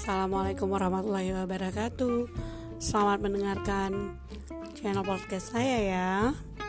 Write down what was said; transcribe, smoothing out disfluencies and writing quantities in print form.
Assalamualaikum warahmatullahi wabarakatuh. Selamat mendengarkan channel podcast saya ya.